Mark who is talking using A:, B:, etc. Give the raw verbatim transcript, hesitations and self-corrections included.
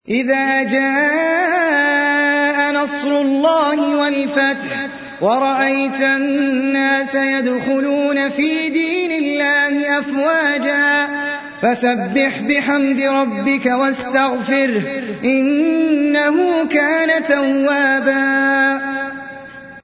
A: إذا جاء نصر الله والفتح ورأيت الناس يدخلون في دين الله أفواجا فسبح بحمد ربك واستغفره إنه كان توابا